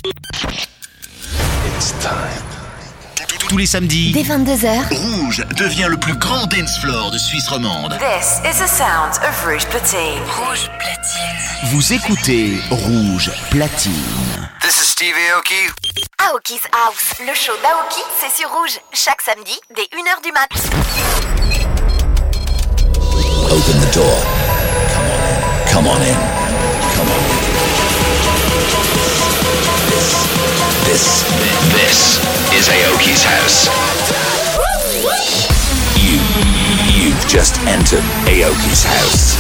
It's time. Tous les samedis, dès 22h, Rouge devient le plus grand dance floor de Suisse romande. This is the sound of Rouge Platine. Rouge Platine. vous écoutez Rouge Platine. This is Steve Aoki. Aoki's House, le show d'Aoki, c'est sur Rouge, chaque samedi, dès 1h du mat. Open the door. Come on in. Come on in. This is Aoki's house. You've just entered Aoki's house.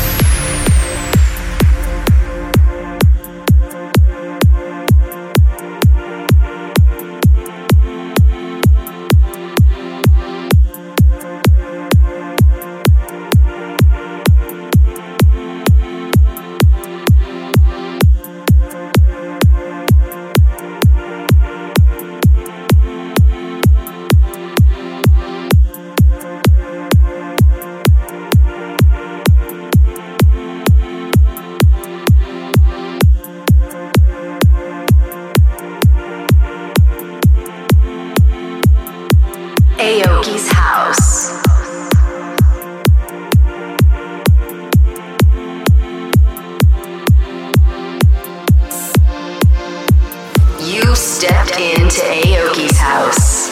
Aoki's House. You stepped into Aoki's house.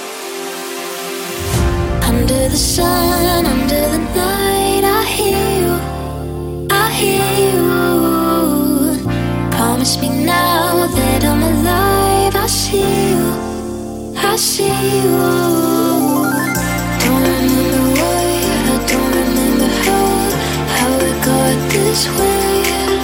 Under the sun, under the night, I hear you, I hear you. Promise me now that I'm alive. I see you, I see you. Don't remember why, I don't remember how it got this way.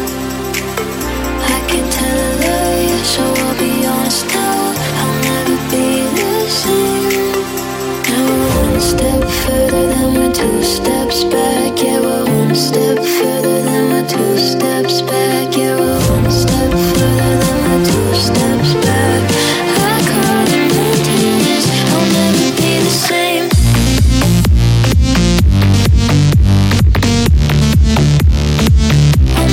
I can't tell a lie, so I'll be honest now. I'll never be the same. Now we're one step further, then we're two steps back. Yeah, we're one step further, then we're two steps back. Yeah, we're one step further, then we're two steps back. I call it mountains, I'll never be the same. I'll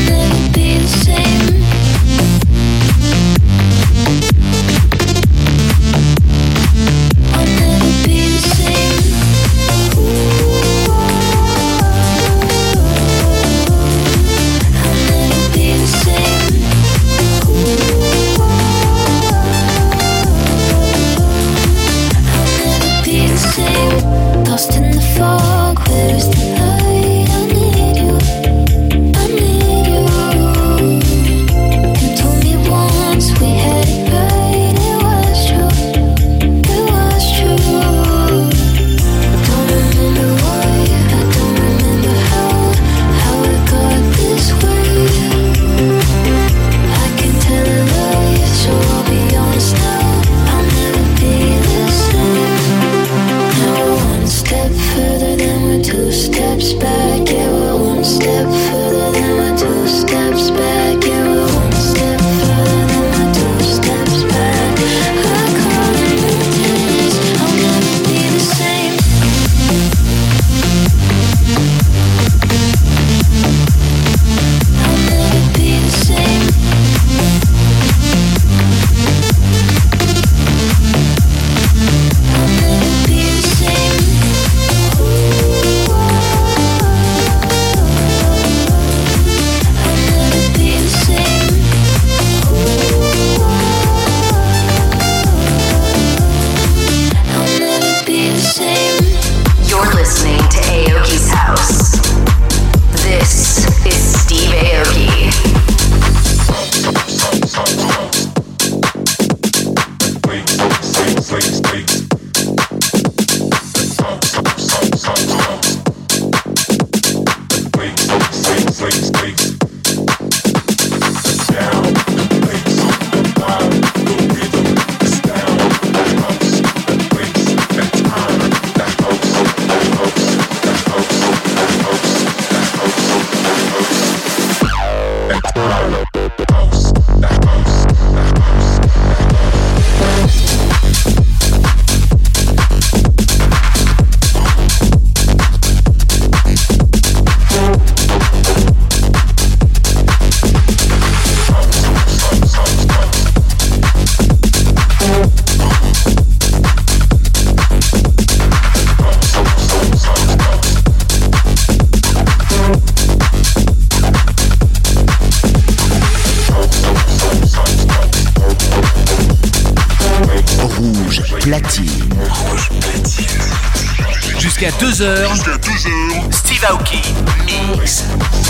platine. Jusqu'à 2h. Steve Aoki Mix.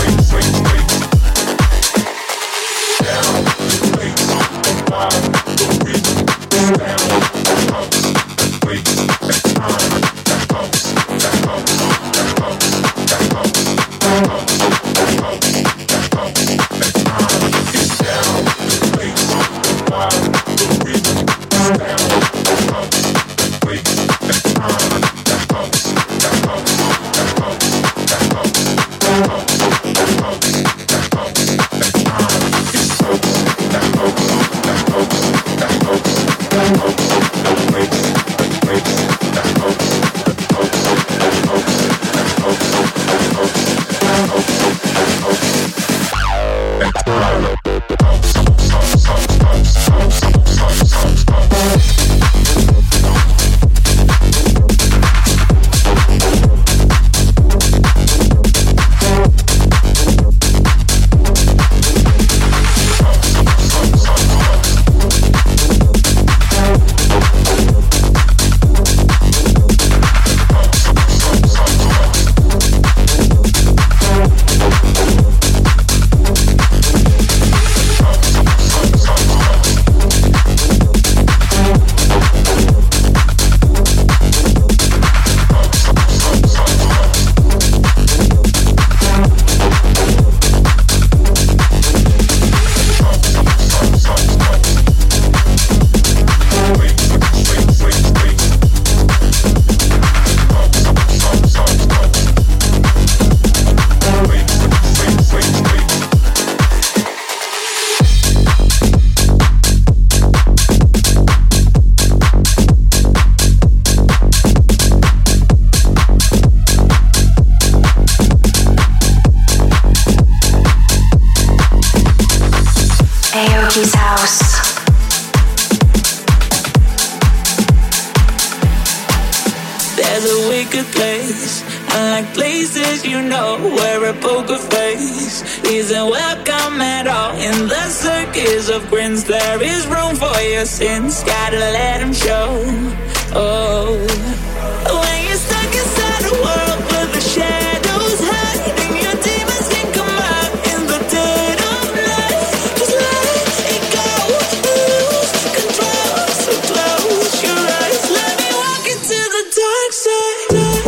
Aoki's house. There's a wicked place, unlike places you know, where a poker face isn't welcome at all. In the circus of grins, there is room for your sins. Gotta let them show. Oh, when you're stuck inside a world where the shadows hide and your demons can come out in the dead of night, just let it go, lose control. So close your eyes, let me walk into the dark side.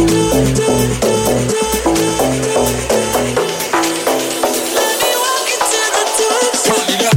Let me walk into the dark side.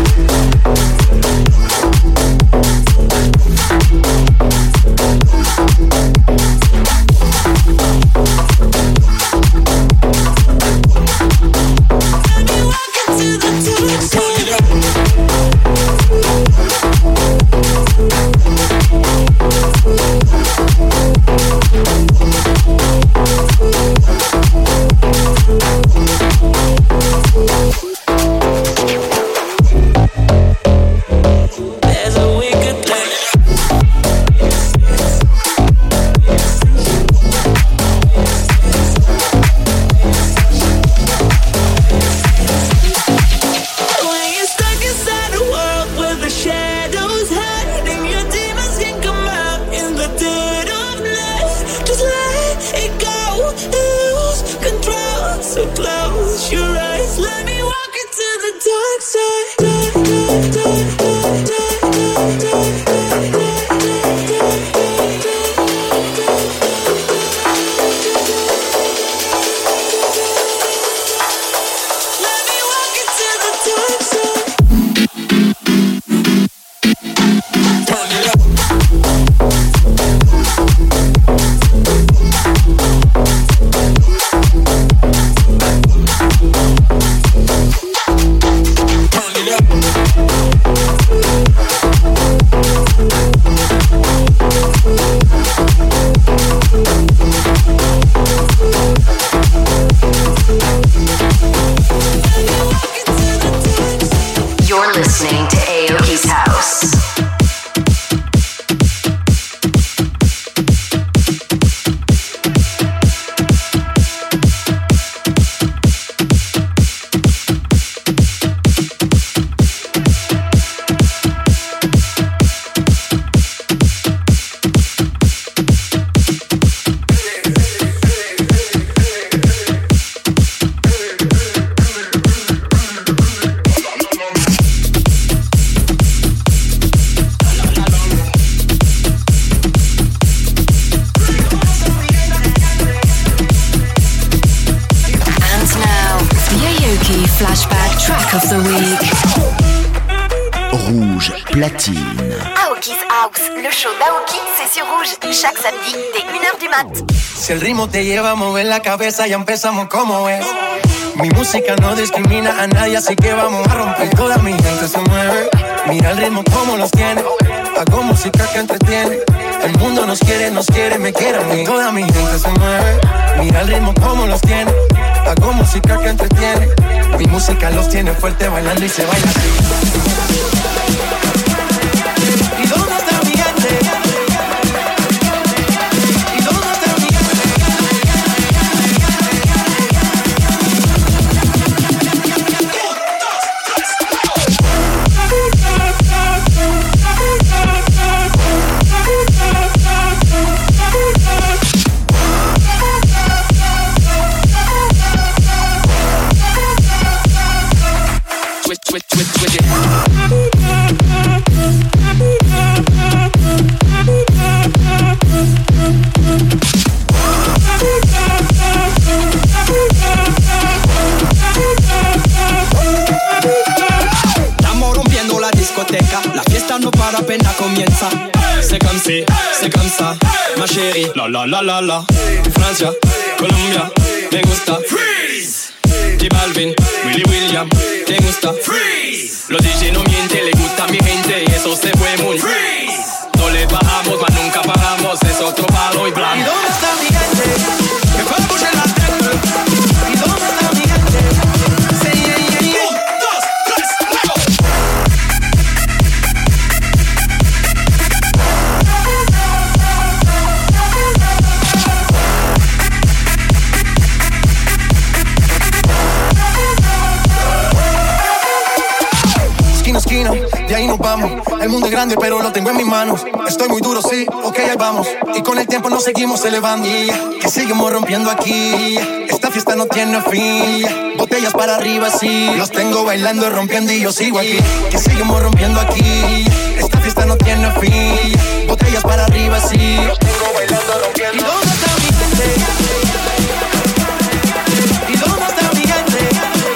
Listening to Aoki's house. Rouge Platine. Aoki's House, le show d'Aoki, c'est sur Rouge, chaque samedi dès 1h du mat. Si el ritmo te lleva a mover la cabeza, ya empezamos como es. Mi música no discrimina a nadie, así que vamos a romper. Toda mi gente se mueve, mira el ritmo como los tiene. Hago música que entretiene. El mundo nos quiere, me quiere a mí. Toda mi gente se mueve, mira el ritmo como los tiene. Hago música que entretiene. Mi música los tiene fuerte bailando y se baila así. ¿Y dónde está mi gente? ¿Y dónde está mi gente? Switch it. Estamos rompiendo la discoteca, la fiesta no para, apenas comienza. C'est comme ça, ma chérie. La la la la la. Francia, Colombia, me gusta. Freeze. J Balvin, Willy William, ¿te gusta? Freeze. Los DJ no mienten, le gusta a mi gente y eso se fue muy. Freeze. No le bajamos, mas nunca paramos, es otro palo y blanco. ¿Y dónde está mi gente? Que fue a escuchar la tecla. ¿Y dónde está mi gente? Say yeah, yeah, yeah. 1, 2, 3, luego. Esquina, de ahí nos vamos. El mundo es grande, pero lo tengo en mis manos. Estoy muy duro, sí, ok, ahí vamos. Y con el tiempo nos seguimos elevando. Que seguimos rompiendo aquí. Esta fiesta no tiene fin. Botellas para arriba, sí. Los tengo bailando y rompiendo y yo sigo aquí. Que seguimos rompiendo aquí. Esta fiesta no tiene fin. Botellas para arriba, sí. Los tengo bailando y rompiendo. ¿Y dónde está mi gente? ¿Y dónde está mi gente?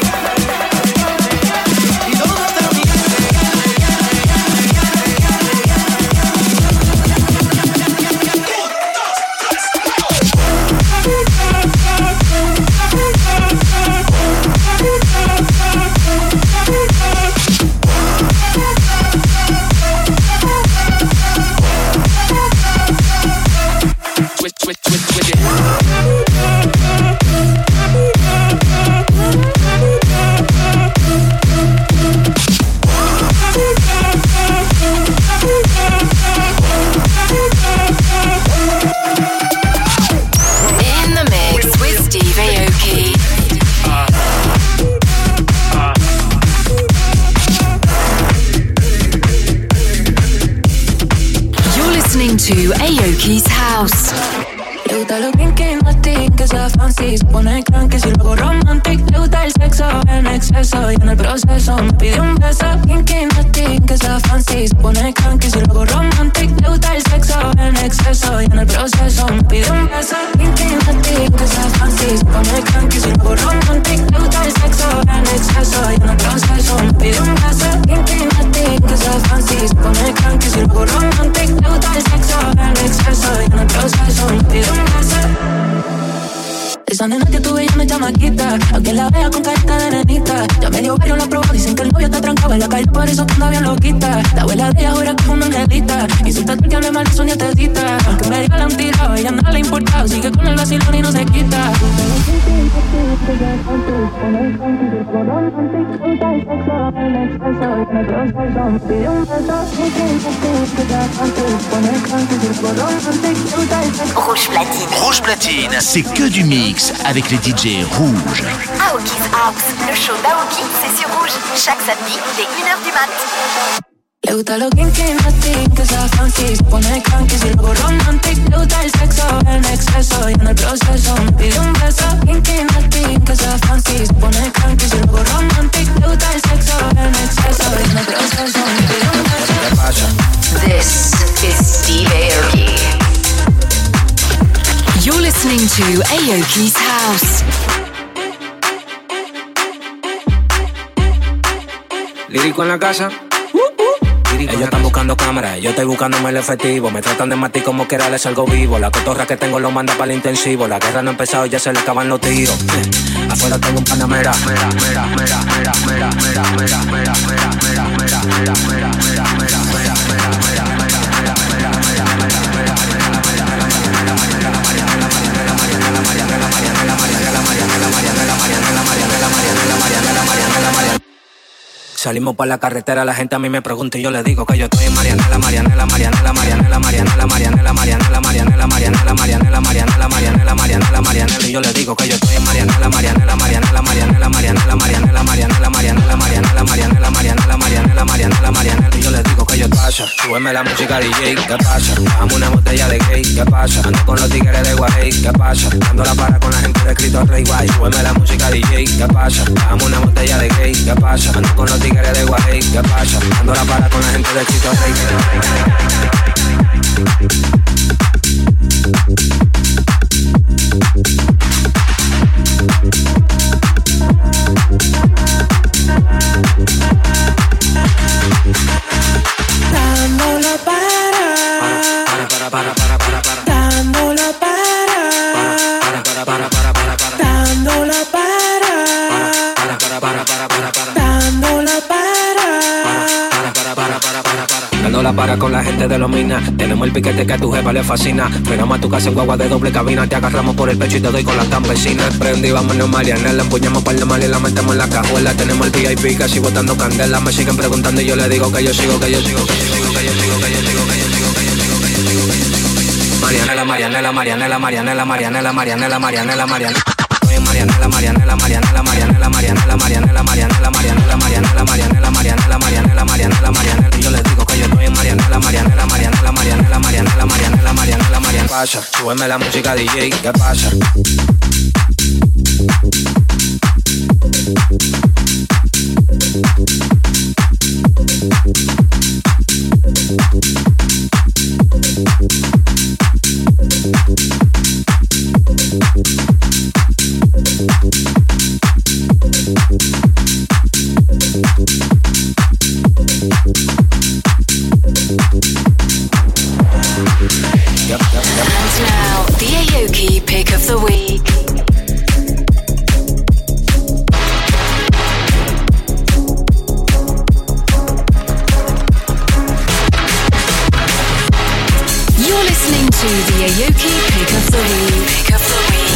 To Aoki's House. Le gusta lo kinky, nasty, que sea fancy. Se pone cranky, si luego romantic. Le gusta el sexo en exceso y en el proceso me pide un beso. Kinky, nasty, que sea fancy. Se pone cranky, si luego romantic. Le gusta el sexo en exceso y en el proceso me pide un beso. Kinky, nasty, que sea fancy. Se pone cranky, si luego romantic. Le gusta el sexo en exceso y en el proceso me pide un beso. Kinky, nasty, que sea fancy. Se pone cranky, si luego romantic. Le gusta el sexo en exceso y en el proceso me pide un beso. Esa nena que tuve ya no es chamaquita, aunque la vea con carita de nenita. Ya medio barrio la probó, dicen que el novio está trancado en la calle, por eso que anda bien loquita. La abuela de ella jura que es una angelita, insulta que hable mal de su nietecita. Aunque me diga la han tirado, a ella nada le importa, sigue con el vacilón y no se quita. Rouge Platine. Rouge Platine, c'est que du mix avec les DJ rouges. Aoki's House, le show d'Aoki, c'est sur Rouge, chaque samedi dès 1h du mat. Le gusta lo kinky, nasty, que sea fancy. Se pone cranky, si luego romantic. Le gusta el sexo en exceso y en el proceso me pide un beso. Kinky, nasty, que sea fancy. Se pone cranky, si luego romantic. Le gusta el sexo en exceso y en el proceso me pide un beso. This is Steve Aoki. You're listening to Aoki's House. Lírico en la casa. Ellos están buscando cámaras, yo estoy buscándome el efectivo. Me tratan de matar como quiera, les salgo vivo. La cotorra que tengo lo manda para el intensivo. La guerra no ha empezado y ya se le acaban los tiros. Afuera tengo un panamera. Salimos por la carretera, la gente a mí me pregunta y yo le digo que yo estoy en Marianela, Marianela, Marianela, Marianela, Marianela, Marianela, Marianela, Marianela, Marianela, Marianela, Marianela, Marianela, Marianela, Marianela, y yo le digo que yo estoy en Marianela, Marianela, Marianela, Marianela, Marianela, Marianela, Marianela, Marianela, Marianela, Marianela, Marianela, Marianela, Marianela, Marianela, y yo le digo que yo pasa. Súbeme la música DJ, ¿qué pasa? Dame una botella de gay, ¿qué pasa? Ando con los tigres de Guay, ¿qué pasa? Dando la para con la gente de Cristo Rey Guay. Súbeme la música DJ, ¿qué pasa? Dame una botella de gay, ¿qué pasa? Ando con los tigres de Guay, ¿qué pasa? Ando la para con la gente de Cristo Rey. Dando la para. Dando la para. Dando la para. Dando la para. Dando la para con la gente de los minas. Tenemos el piquete que a tu jefa le fascina. Frenamos a tu casa en guagua de doble cabina. Te agarramos por el pecho y te doy con las campesinas. Prendí, vámonos Marianela. Empuñamos par de mal y la metemos en la cajuela. Tenemos el VIP casi botando candela. Me siguen preguntando y yo le digo que yo sigo, que yo sigo, que yo sigo, que yo sigo, que yo sigo, que yo sigo, que yo sigo, que yo sigo, que yo sigo. Marianela, Marianela, Marianela, Marianela, Marianela, Marianela, Marianela, Marianela. Marianela, Marianela, Marianela, Marianela, Marianela, Marianela, Marianela, Marianela, Marianela, Marianela, Marianela, Marianela, Marianela, Marianela, y yo les digo que yo estoy en Marianela, Marianela, Marianela, Marianela, Marianela, Marianela, Marianela, Marianela. Pasa, súbeme la música DJ, ¿qué pasa? And now, the Aoki Pick of the Week. You're listening to the Aoki Pick of the Week. Pick of the Week.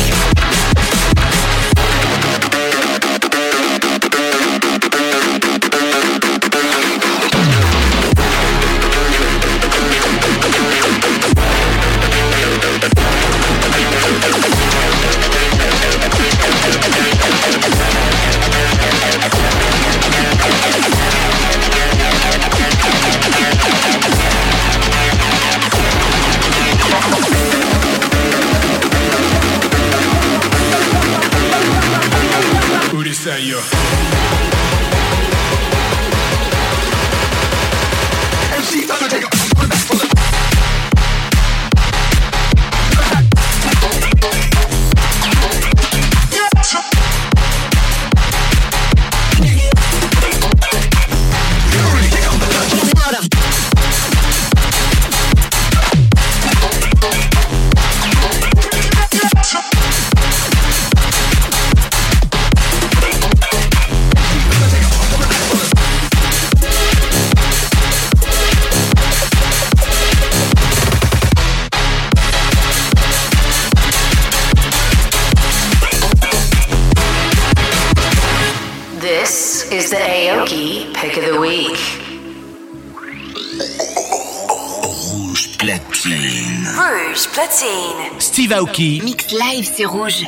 This is the Aoki Pick of the Week. Rouge Platine. Rouge Platine. Steve Aoki. Mix live, c'est rouge.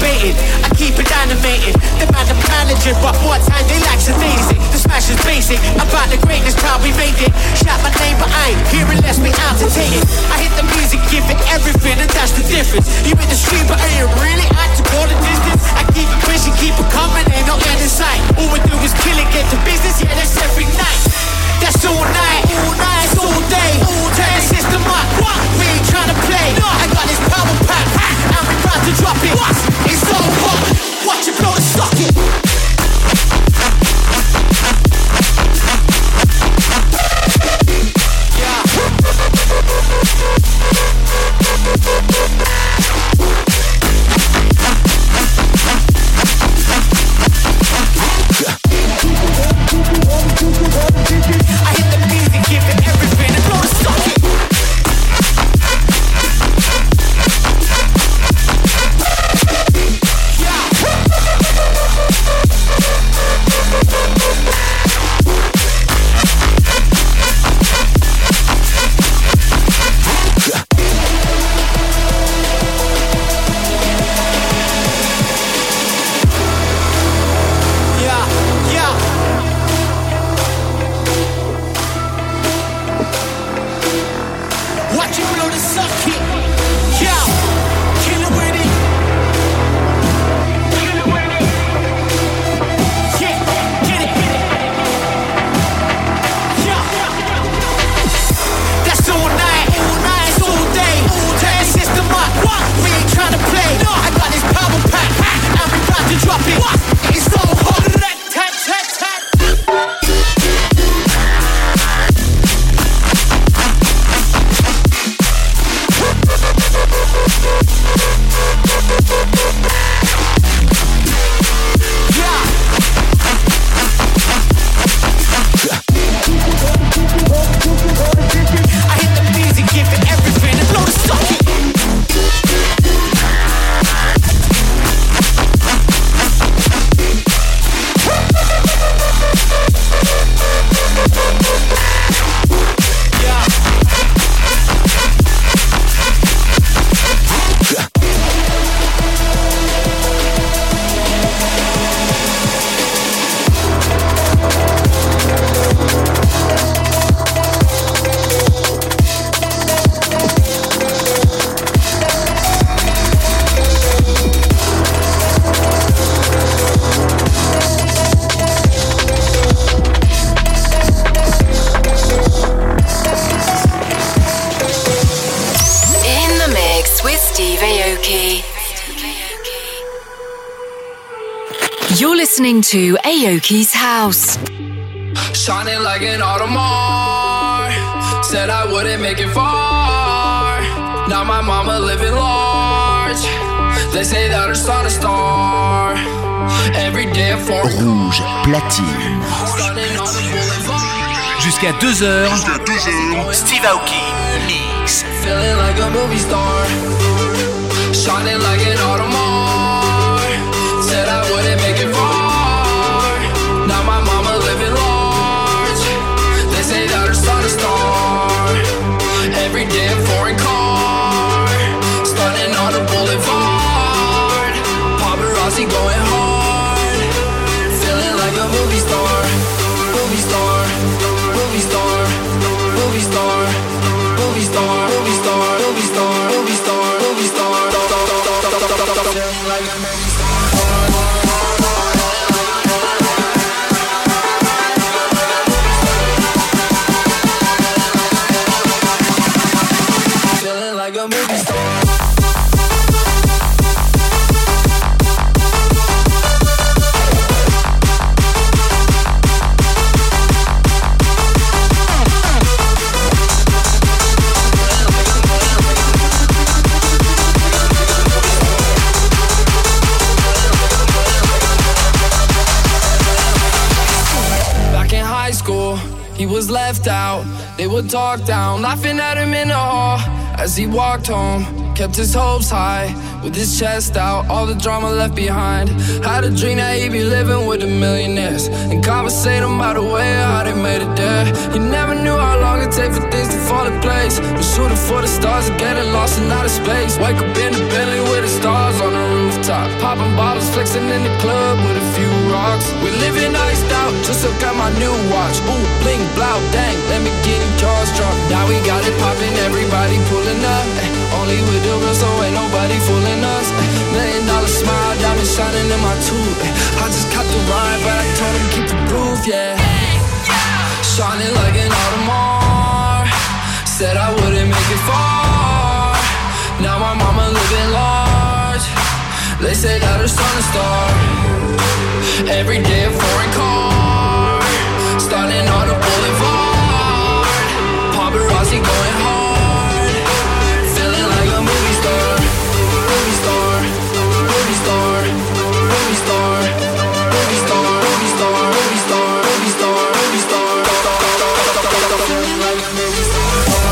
debating, I keep it animated. The man, the manager, but what time they like sedating. The smash is basic, about the greatness, proud we made it. Shout my name, but I ain't here unless we agitated. I hit the music, give it everything, and that's the difference. You in the street, but I ain't really out to go the distance. I keep it pushing, keep it coming, ain't no end in sight. All we do is kill it, get to business, yeah, that's every night. That's all night, it's all day. Turn the system up, we ain't tryna play. I got this power pack, and we about to drop it. It's so hot, watch it blow the socket. I hit the music, give it everything, and blow the socket. Watch it blow the socket. Yo, kill it with it. Kill it with it. Yeah, get it. Yo, that's all night, it's all day. Turn the system up, we ain't tryna play. I got this power pack, and we about to drop it. It's so hot. I hit the music, give it everything, and blow the socket. You're listening to Aoki's House. Shining like an Audemars. Said I wouldn't make it far. Now my mama living large. They say that her son is star. Every day for Rouge platine. Jusqu'à 2h. Steve Aoki mix. Feeling like a movie star. Shining like an Audemars. Said I wouldn't make it far. Now my mama living large. They say that her son is star. Every day a foreign car. Stunning on the boulevard. Paparazzi going hard. Feeling like a movie star. Movie star. Movie star. Movie star. Movie star. Movie star. Movie star. Movie star. Movie star. Feeling like a movie star. He was left out, they would talk down, laughing at him in the hall as he walked home. Kept his hopes high, with his chest out, all the drama left behind. Had a dream that he'd be living with the millionaires and conversating about the way how they made it there. He never knew how long it'd take for things to fall in place. We're shooting for the stars and getting lost in outer space. Wake up in the Bentley with the stars on the rooftop. Pop Dancing in the club with a few rocks. We living iced out, just look at my new watch. Ooh, bling, blow, dang, let me get in jaws drop. Now we got it poppin', everybody pulling up. Only with the real, so ain't nobody fooling us. $1 million smile, diamond shining in my tooth. I just caught the ride, but I told him keep the groove, yeah. Shining like an Audemars. Said I wouldn't make it far. Now my mama living large. They say that her son is star. Every day a foreign car. Starting on the boulevard. Paparazzi going hard. Feeling like a movie star. Movie star. Movie star. Movie star. Movie star. Movie star. Movie star. Movie star. Movie star. Feeling like a movie star.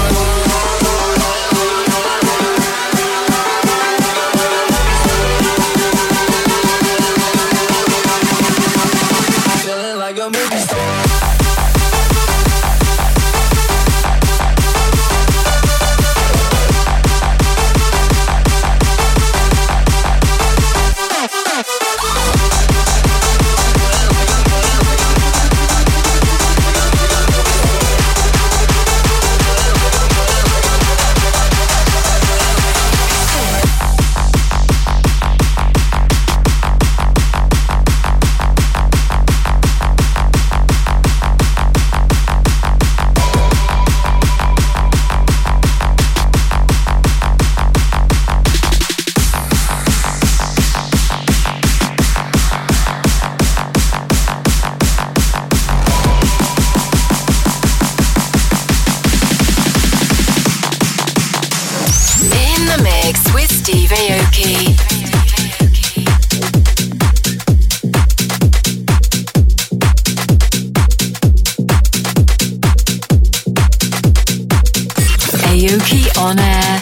Aoki on air.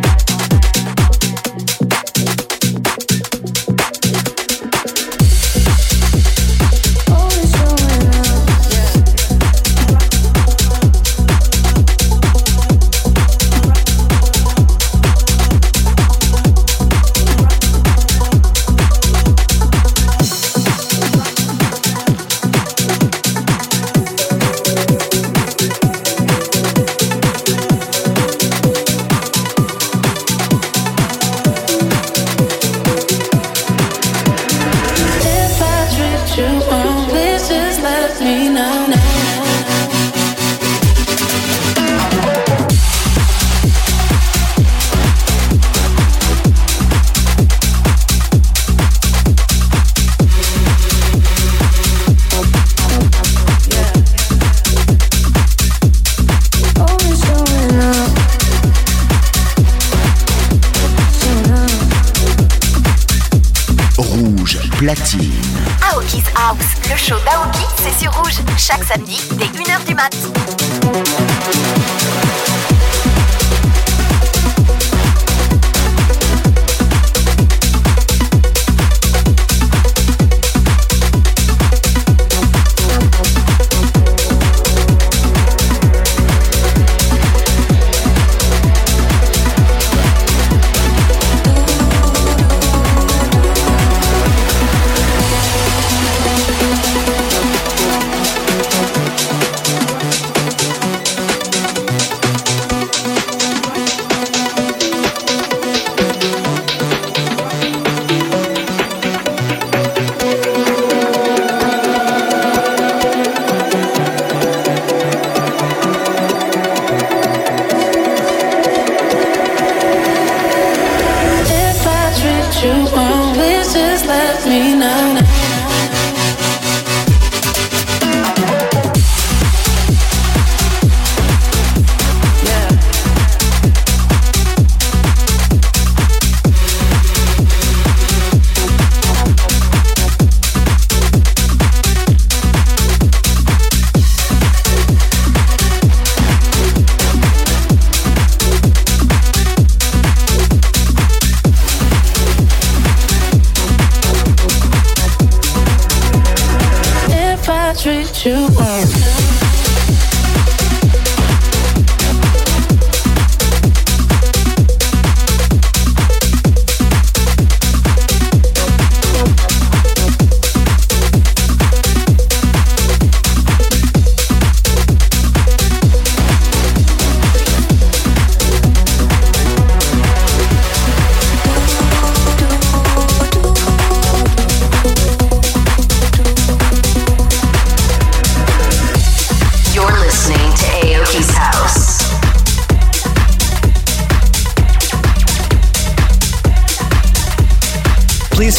Platine. Aoki's House, le show d'Aoki, c'est sur Rouge, chaque samedi dès 1h du mat.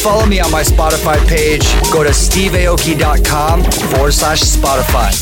follow me on my Spotify page. Go to steveaoki.com/Spotify.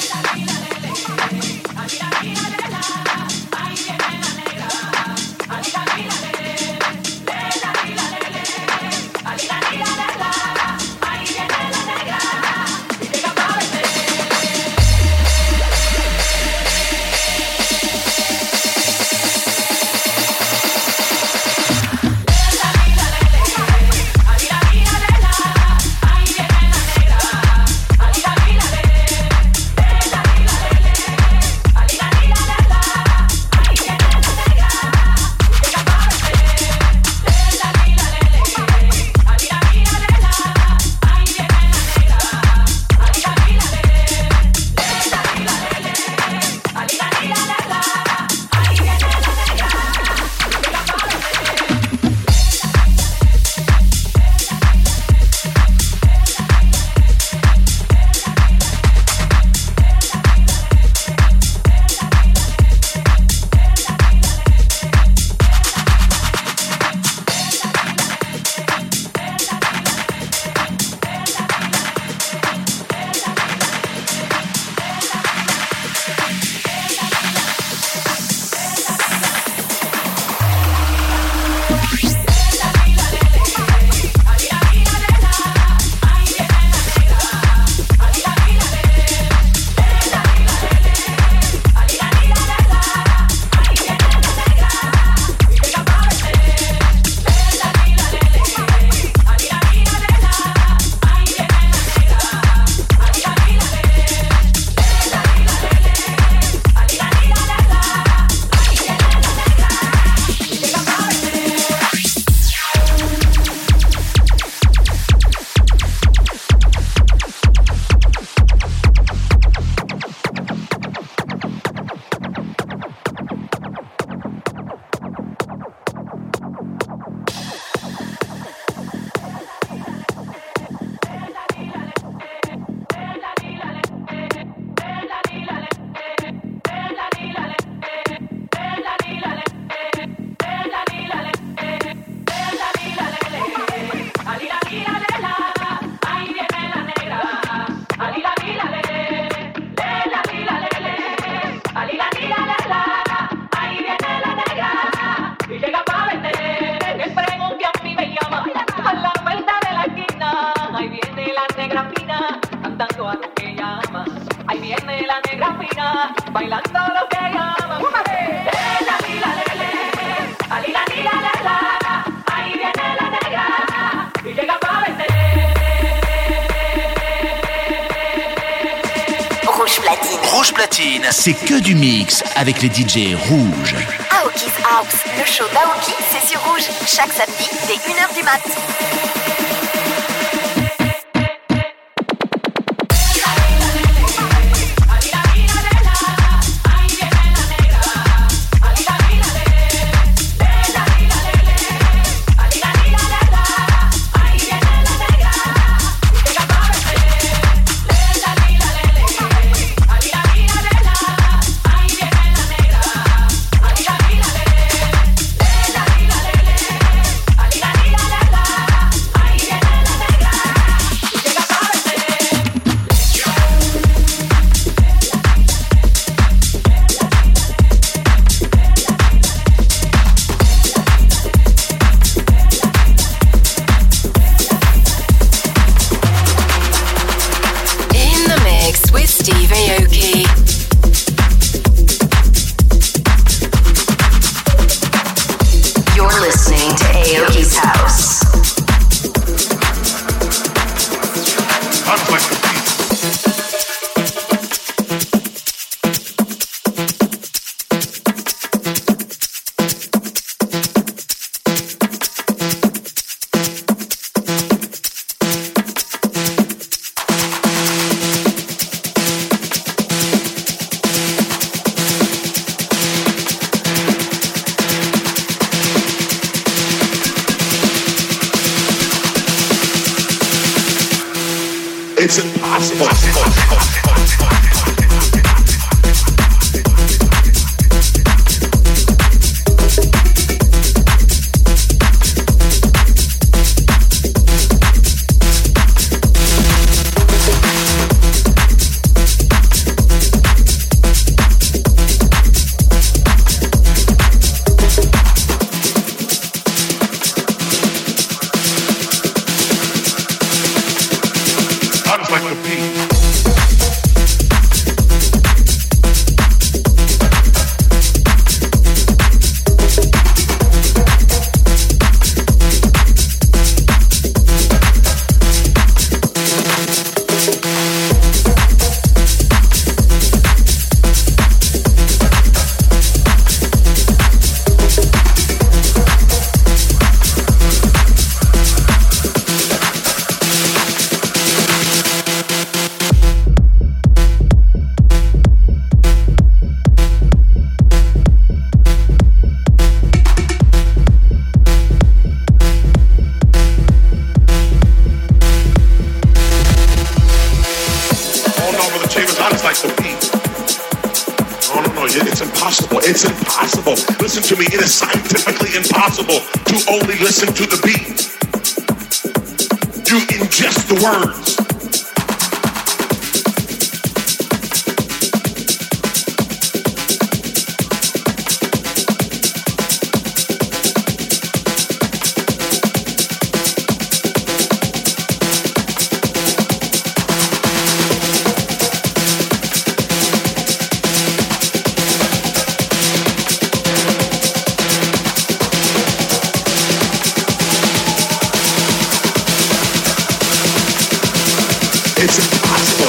Rouge Platine, c'est que du mix avec les DJ rouges. Aoki's House, le show d'Aoki, c'est sur Rouge, chaque samedi dès 1h du mat'. It's impossible. telling you, it's impossible. It's impossible. Listen to me. It is scientifically impossible to only listen to the beat. You ingest the words. It's impossible.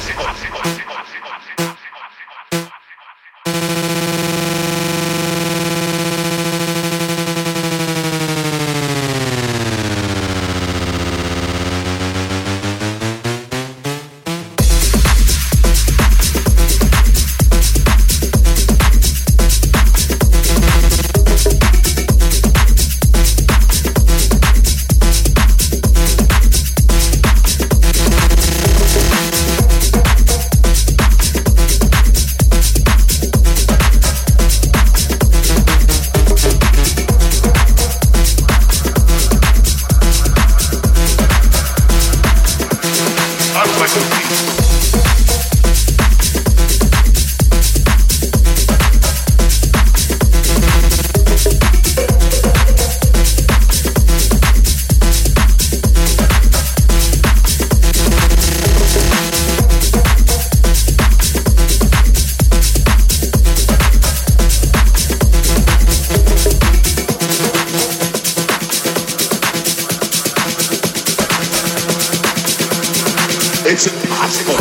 It's impossible.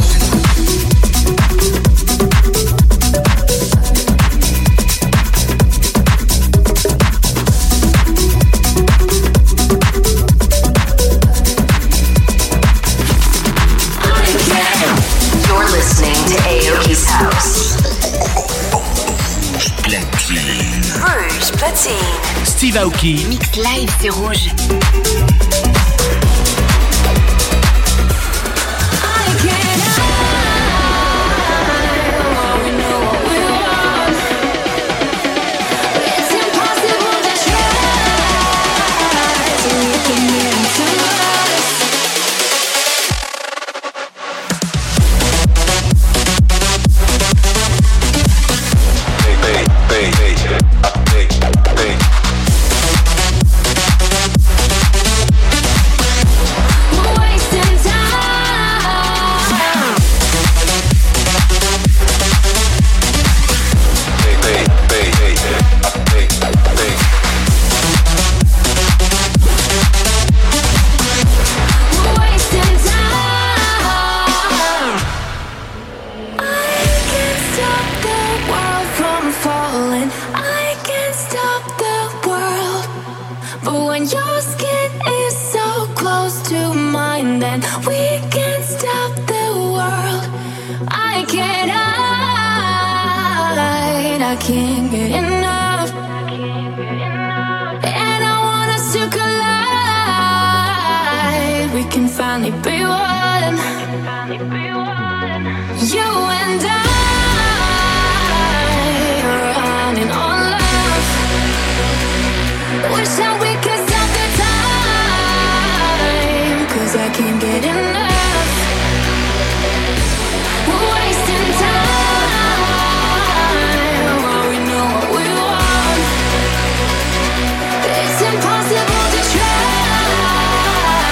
You're listening to Aoki's House. Rouge Platine. Steve Aoki. Mix live, c'est rouge.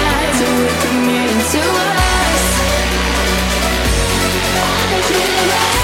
To us, I can't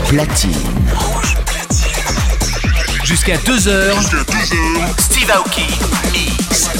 platine. Jusqu'à 2h. Steve Aoki Mix.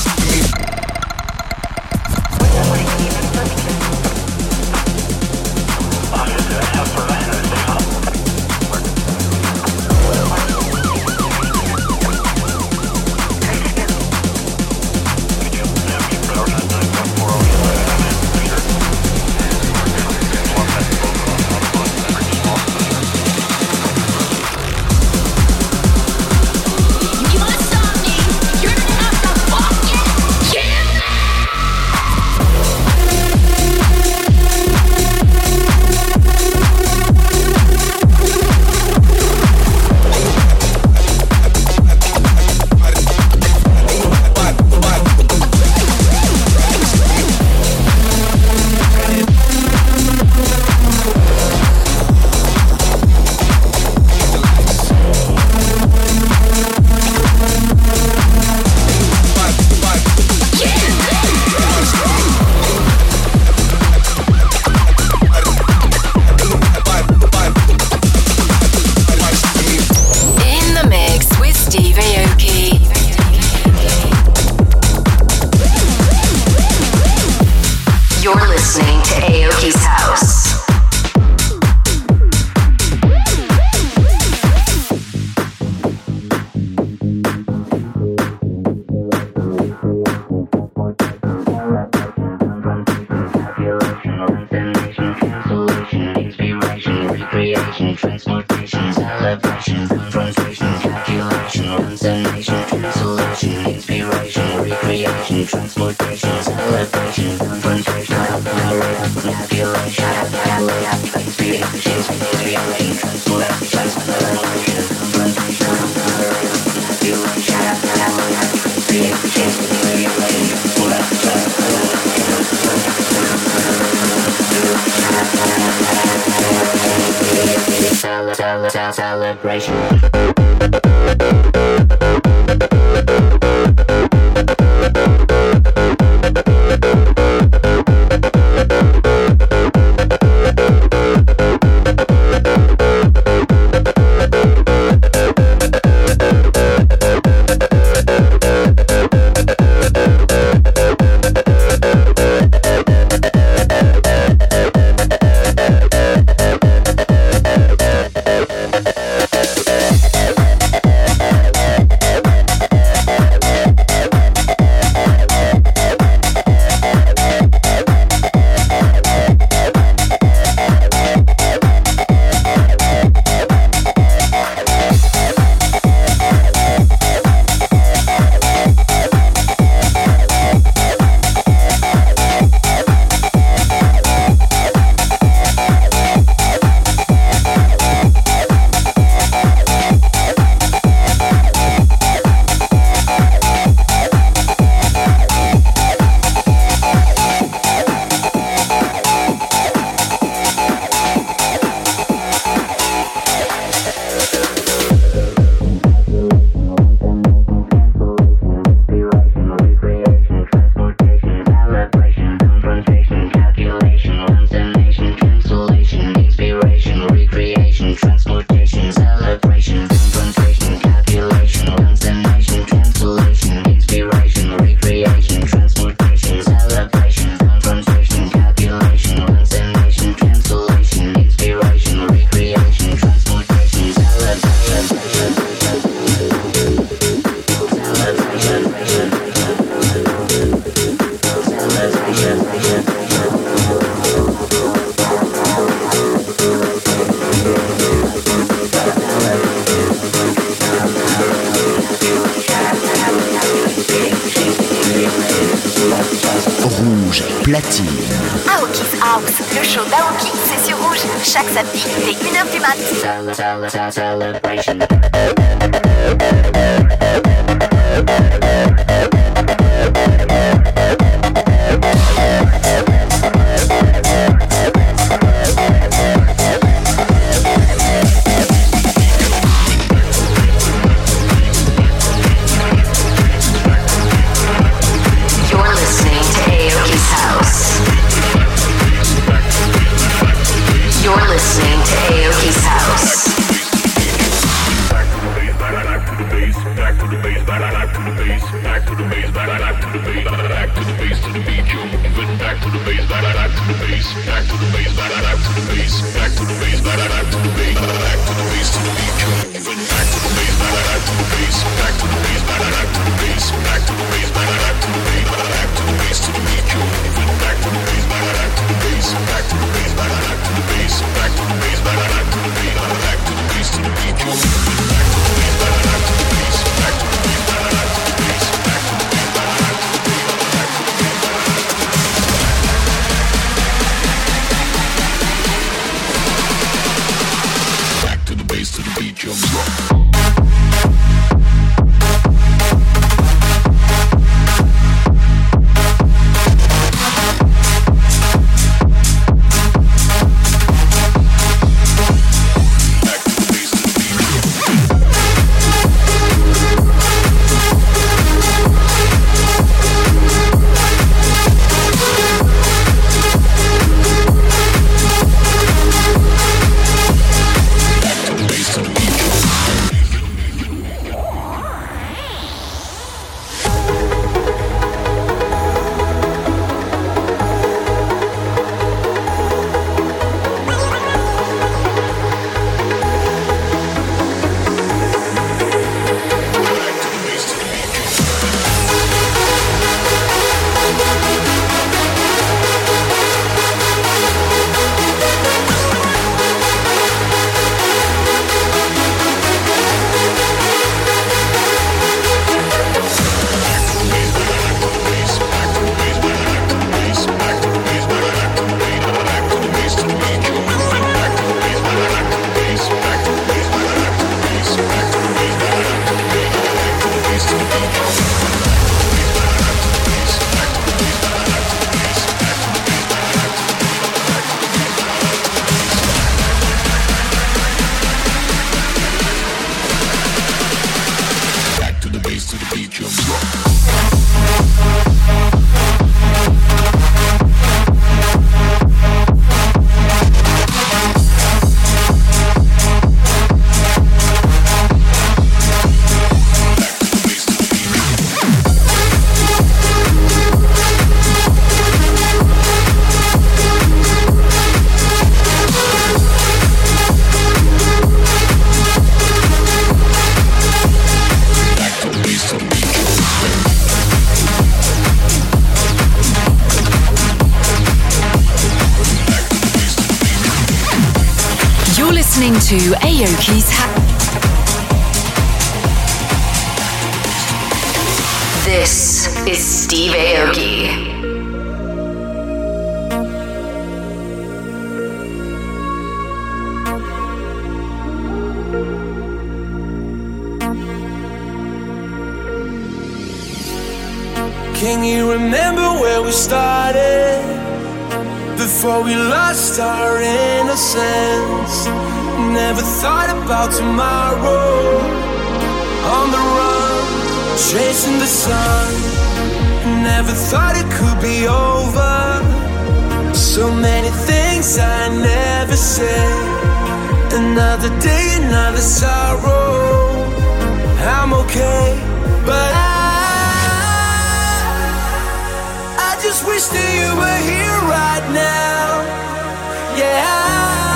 Rouge platine. Aoki's House, le show d'Aoki, c'est sur Rouge, chaque samedi dès 1h du mat. You're listening to Aoki's House. listening to Aoki's This is Steve Aoki. Can you remember where we started? Before we lost our innocence. Never thought about tomorrow. On the run, chasing the sun. Never thought it could be over. So many things I never said. Another day, another sorrow. I'm okay, but I just wish that you were here right now. Yeah,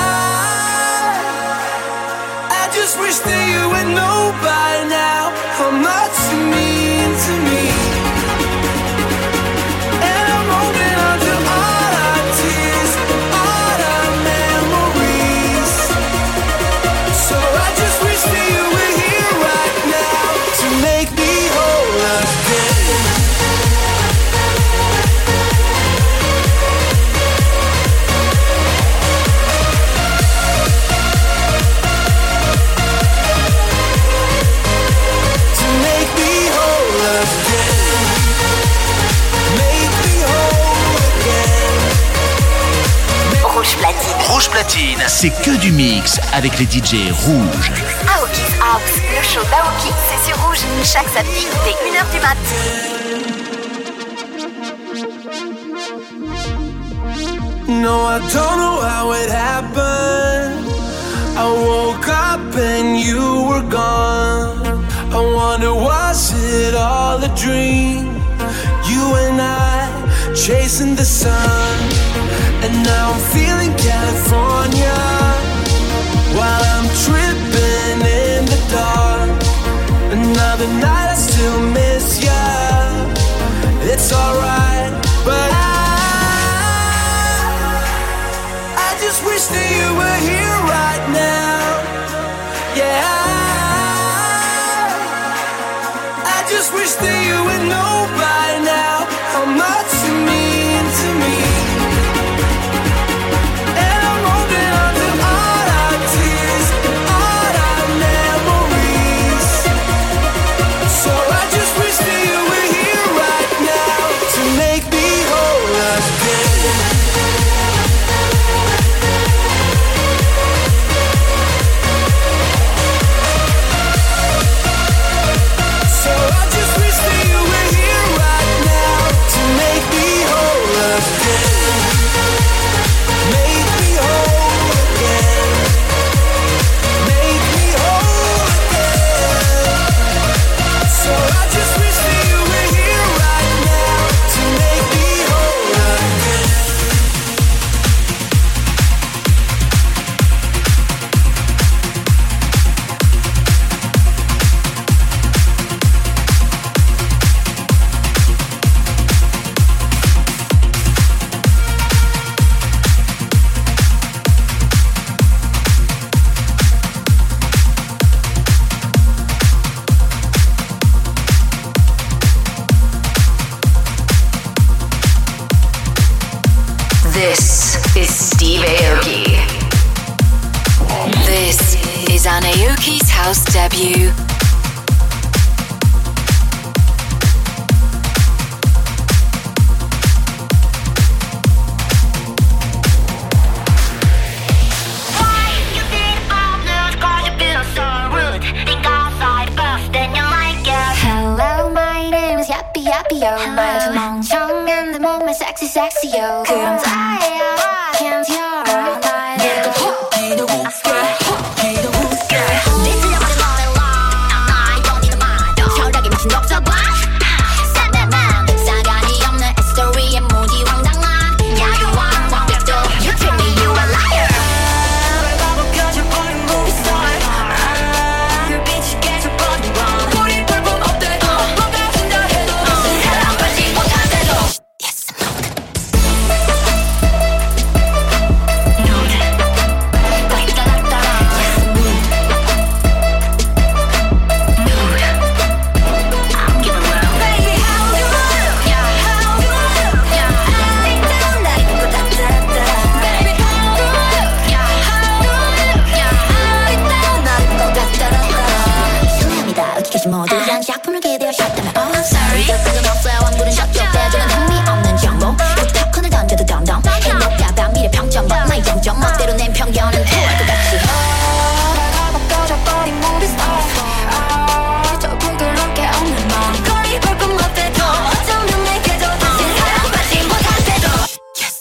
I just wish that you would know by now how much you mean to me. And I'm holding on to all our tears, all our memories. So I just wish that you were here right now to make me whole again. Rouge Platine, c'est que du mix avec les DJ rouges. Aoki's House, le show d'Aoki, c'est sur Rouge, chaque samedi dès 1h du mat. No, I don't know how it happened. I woke up and you were gone. I wonder, was it all a dream? You and I chasing the sun, and now I'm feeling California while I'm tripping in the dark. Another night I still miss ya. It's alright, but I just wish that you were here right now. Yeah, I just wish that you would know by now how much you mean to me. And I'm holding on to all our tears, all our memories. So I just wish that you were here right now to make me whole again. So I just wish that you were here right now to make me whole again. Make me whole again. Make me whole again. So I just wish that you were here right now to make me whole again. This is Steve Aoki. This is an Aoki's House debut. Hello, my name is Yappy Yappy Yo. 말 멍청한데 몸매 sexy sexy yo. 그럼 다야, can't hear 날 내가 기도 웃겨, 기도 웃겨. 네 들려버린 노래 long, I don't need a mind. 혈액에 미친 독서관, 싸늘한 싸가지 없는 스토리에 무지황당한 야유한 완벽도. You treat me, you a liar. 널 바보켜줄 뻔한 movie star. 불빛이 계속 꺼진 건 우리 볼품 없대도 뭔가 힘들어 해도 사랑받지 못한대도. Yes, 모두 한 작품을 기대어 셨다면 oh sorry 뜻은 없어요 완구는 저쪽 대주는 흥미없는 정보 부탁권을 던져도 덤덤 행복하다 미래 평점 나의 영점 멋대로 낸 편견은 후할 것 같지 날 바꿔줘버린 movie star 저 부끄럽게 없는 맘 거리 볼품 없대도 어쩌면 내게도 다시 사랑받지 못할 때도 Yes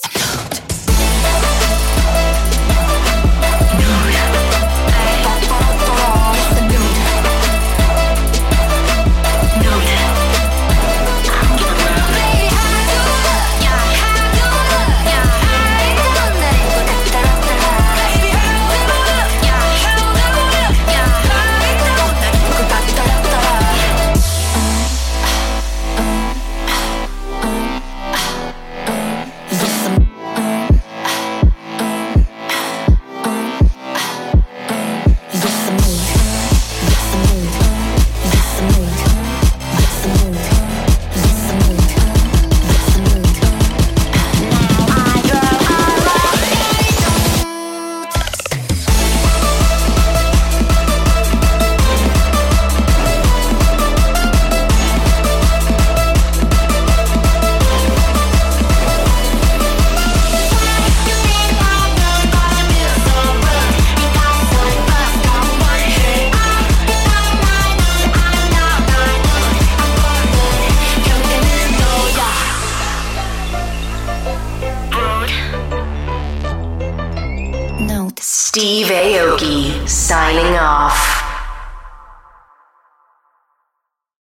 Steve Aoki signing off.